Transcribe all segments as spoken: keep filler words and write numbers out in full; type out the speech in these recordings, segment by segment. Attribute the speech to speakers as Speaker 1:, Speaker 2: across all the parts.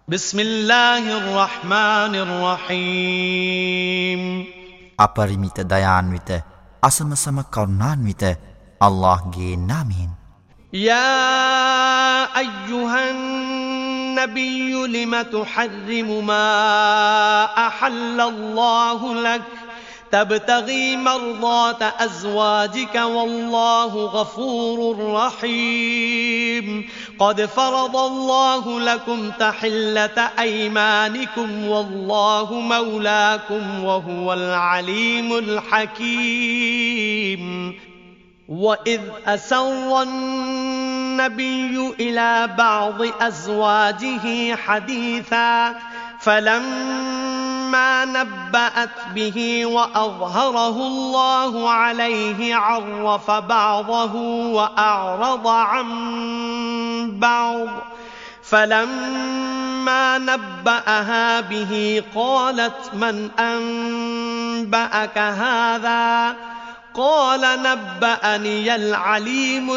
Speaker 1: بسم الله الرحمن الرحيم
Speaker 2: අපරිමිත දයාන්විත අසමසම කරුණාන්විත අල්ලාහ්ගේ නාමයෙන්
Speaker 1: يا أيها النبي لم تحرم ما أحل الله لك تبتغي مرضات أزواجك والله غفور رحيم قد فرض الله لكم تحلة أيمانكم والله مولاكم وهو العليم الحكيم وإذ أسر النبي إلى بعض أزواجه حديثا فلما نبأت به وأظهره الله عليه عرف بعضه وأعرض عن بعض فلما نبأها به قالت من أنبأك هذا قال نبأني العليم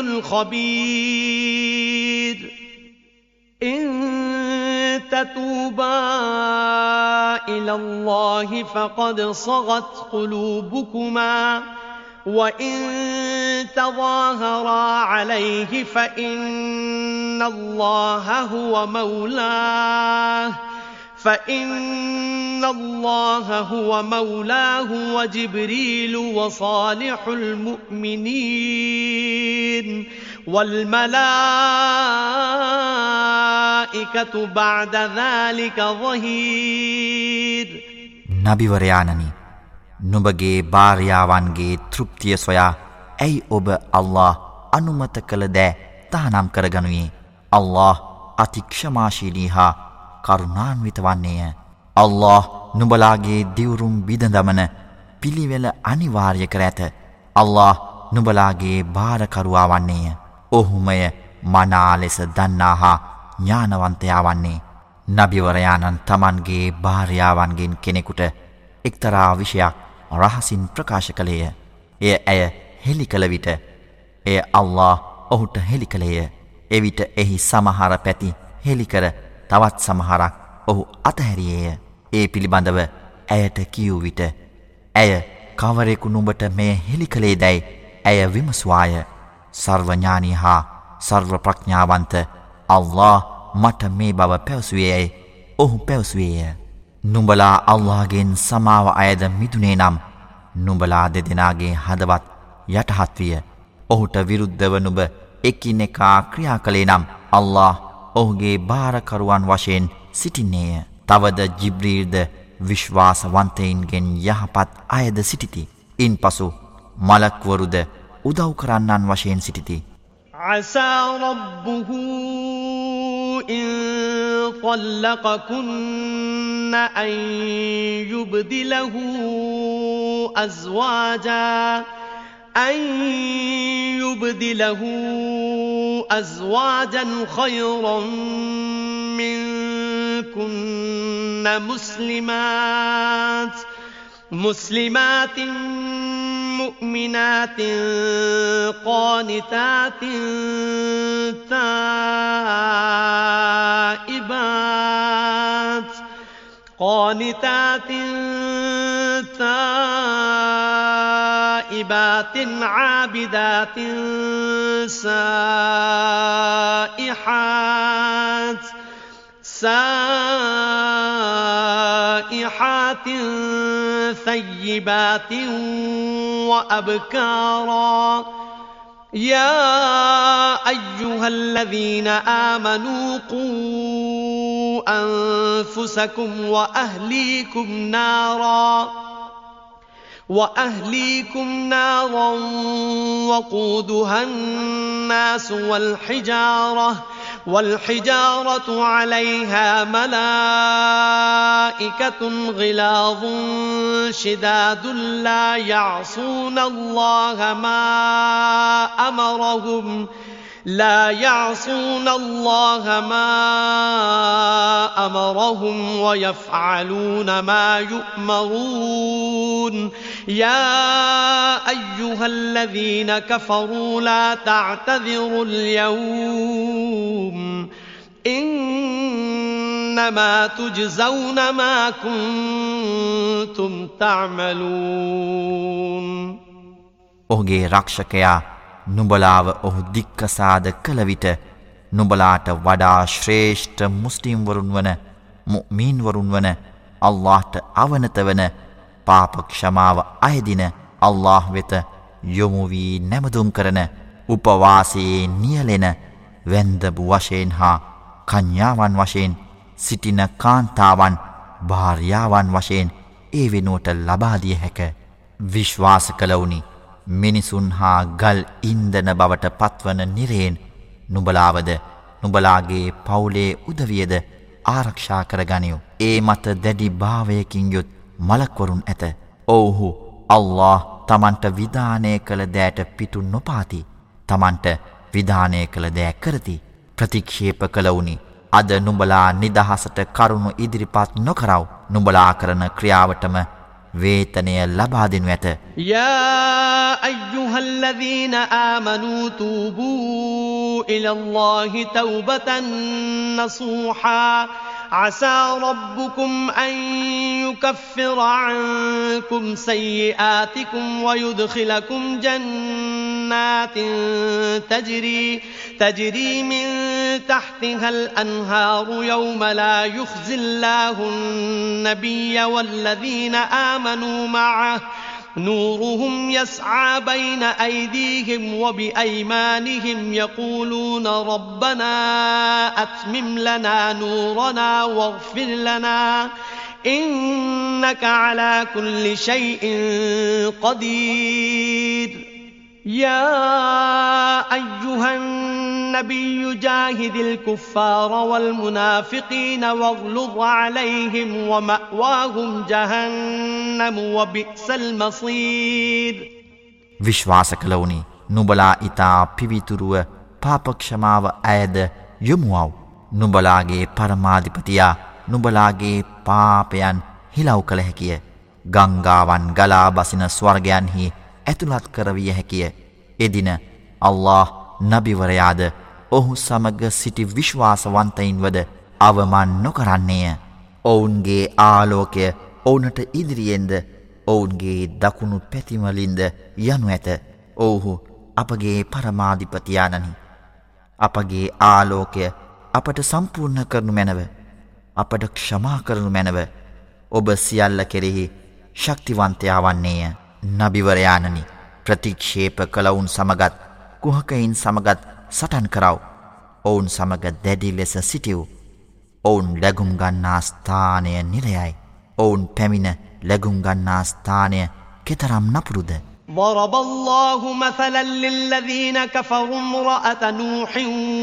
Speaker 1: الخبير إن تتوبا إلى الله فقد صغت قلوبكما وإن تظاهرا عليه فإن الله هو مولاه فإن الله هو مولاه وجبريل وصالح المؤمنين والملائكة بعد ذلك ظهير
Speaker 2: නබිවරයාණනි නුඹගේ භාර්යාවන්ගේ තෘප්තිය සොයා ඇයි ඔබ අල්ලාහ් අනුමත කළ දෑ තහනම් කරගනුයේ අල්ලාහ් අතික්ෂමාශීලී හා කරුණාන්විත වන්නේය අල්ලාහ් නුඹලාගේ දිවුරුම් බිඳදමන පිළිවෙල අනිවාර්ය කර ඇත අල්ලාහ් නුඹලාගේ භාරකරුවා වන්නේය ඔහුමය මනා ලෙස දන්නා හා ඥානවන්තයා වන්නේ නබිවරයාණන් තමන්ගේ භාර්යාවන්ගෙන් කෙනෙකුට එක්තරා විෂයක් රහසින් ප්‍රකාශ කළේය එය ඇය හෙළි කළ විට එය අල්ලාහ් ඔහුට හෙළි කළේය එවිට එහි සමහර පැති හෙළි කර තවත් සමහරක් ඔහු අතහැරියේය ඒ පිළිබඳව ඇයට කියූ විට ඇය කවරෙකු නුඹට මෙය හෙළි කළේ දැයි ඇය විමසුවාය සර්වඥානී හා සර්ව ප්‍රඥාවන්ත අල්ලාහ් මට මේ බව පැවසුවේයයි ඔහු පැවසුවේය නුඹලා අල්ලාහ්ගෙන් සමාව අයද මිදුනේ නම් නුඹලා දෙදෙනාගේ හදවත් යටහත් විය ඔහුට විරුද්ධව නුඹ එකිනෙකා ක්‍රියා කළේ නම් අල්ලාහ් ඔහුගේ භාරකරුවන් වශයෙන් සිටින්නේය තවද ජිබ්‍රීල්ද විශ්වාසවන්තයින්ගෙන් යහපත් අයද සිටිති ඉන්පසු මලක්වරුද උදව් කරන්නන් වශයෙන් සිටිති
Speaker 1: عسى ربه إن طلقكن أن يبدله أزواجا أن يبدله أزواجا خيرا منكن مسلمات مسلمات مؤمنات قانتات تائبات قانتات تائبات عابدات سائحات سائحات ثيبات وأبكارا يا أيها الذين آمنوا قوا أنفسكم وأهليكم نارا وأهليكم نارا وقودها الناس والحجارة والحجارة عليها ملائكة غلاظ شداد لا يعصون الله ما أمرهم لا يعصون الله ما أمرهم ويفعلون ما يؤمرون يا أيها الذين كفروا لا تعتذروا اليوم إن إنما تجزون ما كنتم تعملون.
Speaker 2: ඔහුගේ රක්ෂකයා නුඹලාව ඔහු දික්කසාද කළ විට නුඹලාට වඩා ශ්‍රේෂ්ඨ මුස්ලිම් වරුන් වන මුഅ්මින් වරුන් වන අල්ලාහ්ට අවනත වන පාප ක්ෂමාව අයදින අල්ලාහ් වෙත යොමු වී නැමදුම් කරන උපවාසයේ නියැලෙන වැන්දබු වශයෙන් හා කන්‍යාවන් වශයෙන් සිටින කාන්තාවන් භාර්යාවන් වශයෙන් ඒ වෙනුවට ලබා දිය හැක. විශ්වාස කළවුනි මිනිසුන් හා ගල් ඉන්දන බවට පත්වන නිරයෙන් නුඹලාවද නුඹලාගේ පවුලේ උදවියද ආරක්ෂා කරගනිව්. ඒ මත දැඩි භාවයකින් යුත් මලක්වරුන් ඇත. ඔව්හු අල්ලාහ් තමන්ට විධානය කළ දෑට පිටු නොපාති. තමන්ට විධානය කළ දෑ කරති. ප්‍රතික්ෂේප කළවුනි අද නුඹලා නිදහසට කරුණු ඉදිරිපත් නොකරව. නුඹලා කරන ක්‍රියාවටම වේතනය ලබා දෙනු ඇත.
Speaker 1: යා අයියුහල්ලදීන ආමනූ තූබූ ඉලල්ලාහි තෞබතන් නසූහා عسى ربكم أن يكفر عنكم سيئاتكم ويدخلكم جنات تجري تجري من تحتها الأنهار يوم لا يخزي الله النبي والذين آمنوا معه نورهم يسعى بين أيديهم وبأيمانهم يقولون ربنا أتمم لنا نورنا واغفر لنا إنك على كل شيء قدير. يا أيها النبي جاهد الكفار والمنافقين واغلظ عليهم ومأواهم جهنم وبئس المصير.
Speaker 2: විශ්වාස කළවුනි නුඹලා ඊතා පිවිතුරුව පාපක්ෂමාව අයද යොමුවව්. නුඹලාගේ පරමාධිපතියා නුඹලාගේ පාපයන් හිලව් කළ හැකිය. ගංගාවන් ගලා බසින ස්වර්ගයන්හි ඇතුළත් කරවිය හැකිය. එදින අල්ලාහ් නබිවරයාද ඔහු සමග සිටි විශ්වාසවන්තයින්වද අවමන් නොකරන්නේය. ඔවුන්ගේ ආලෝකය ඔවුනට ඉදිරියෙන්ද ඔවුන්ගේ දකුණු පැතිවලින්ද යනු ඇත. ඔවුහු අපගේ පරමාධිපතියාණනි. අපගේ ආලෝකය අපට සම්පූර්ණ කරනු මැනව. අපට ක්ෂමා කරනු මැනව. ඔබ සියල්ල කෙරෙහි ශක්තිවන්තයා වන්නේය. නබිවරයාණනි ප්‍රතික්ෂේප කළවුන් සමගත් කුහකයින් සමගත් සටන් කරව. ඔවුන් සමග දැඩි ලෙස සිටිව්. ඔවුන් ලැගුම් ගන්නා ස්ථානය නිරයයි. ඔවුන් පැමිණ ලැගුම් ගන්නා ස්ථානය කෙතරම් නපුරුද.
Speaker 1: ضرب الله مثلا للذين كفروا امرأة نوح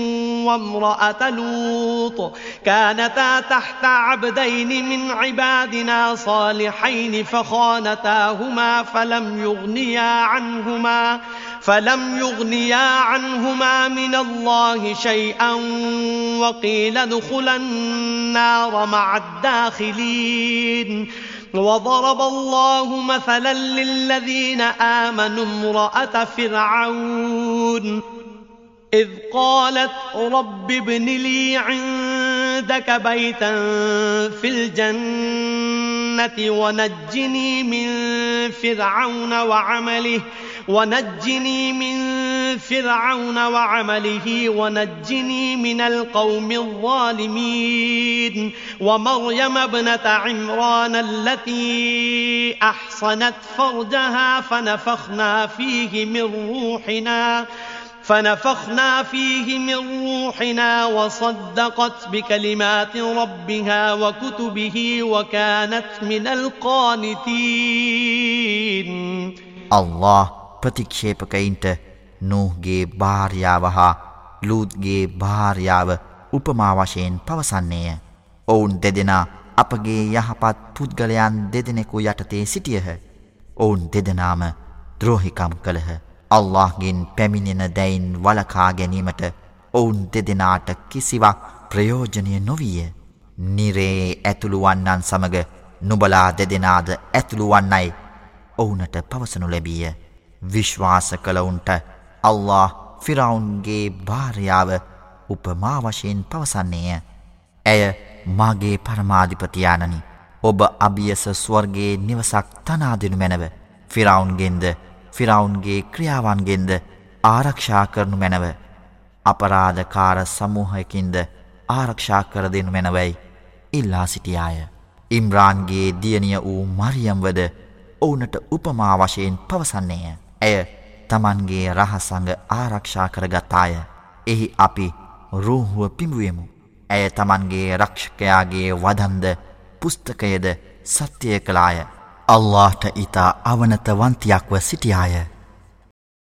Speaker 1: وامرأة لوط كانتا تحت عبدين من عبادنا صالحين فخانتاهما فلم يغنيا عنهما فلم يغنيا عنهما من الله شيئا وقيل ادخلا النار مع الداخلين. وضرب الله مثلا للذين آمنوا امرأة فرعون إذ قالت رب ابن لي عندك بيتا في الجنة ونجني من فرعون وعمله ونجني من فرعون وعمله ونجني من القوم الظالمين. ومريم ابنة عمران التي أحصنت فرجها فنفخنا فيه من روحنا فنفخنا فيه من روحنا وصدقت بكلمات ربها وكتبه وكانت من القانتين.
Speaker 2: الله ප්‍රතික්ෂේපකයින්ට නූහ්ගේ භාර්යාව හා ලූත්ගේ භාර්යාව උපමා වශයෙන් පවසන්නේය. ඔවුන් දෙදෙනා අපගේ යහපත් පුද්ගලයන් දෙදෙනෙකු යටතේ සිටියහ. ඔවුන් දෙදෙනාම ද්‍රෝහිකම් කළහ. අල්ලාහ්ගෙන් පැමිණෙන දැයින් වළකා ගැනීමට ඔවුන් දෙදෙනාට කිසිවක් ප්‍රයෝජනය නොවිය. නිරේ ඇතුළු වන්නන් සමග නුබලා දෙදෙනාද ඇතුළු වන්නයි ඔවුනට පවසනු ලැබීය. විශ්වාස කළවුන්ට අල්ලාහ් ෆිරාවුන්ගේ භාර්යාව උපමා වශයෙන් පවසන්නේය. ඇය මාගේ පරමාධිපතියාණනි, ඔබ අභියස ස්වර්ගයේ නිවසක් තනා දෙනු මැනව. ෆිරාවුන්ගෙන්ද ෆිරාවුන්ගේ ක්‍රියාවන්ගෙන්ද ආරක්ෂා කරනු මැනව. අපරාධකාර සමූහයකින්ද ආරක්ෂා කර දෙනු මැනවයි ඉල්ලා සිටියාය. ඉම්රාන්ගේ දියණිය වූ මරියම්වද ඔවුනට උපමා වශයෙන් පවසන්නේය. ඇය තමන්ගේ රහසඟ ආරක්ෂා කරගතාය. එහි අපි රූහුව පිඹුවෙමු. ඇය තමන්ගේ රක්ෂකයාගේ වදන්ද පුස්තකයද සත්‍යය කළාය. අල්ලාහට ඉතා අවනත වන්තියක්ව සිටියාය.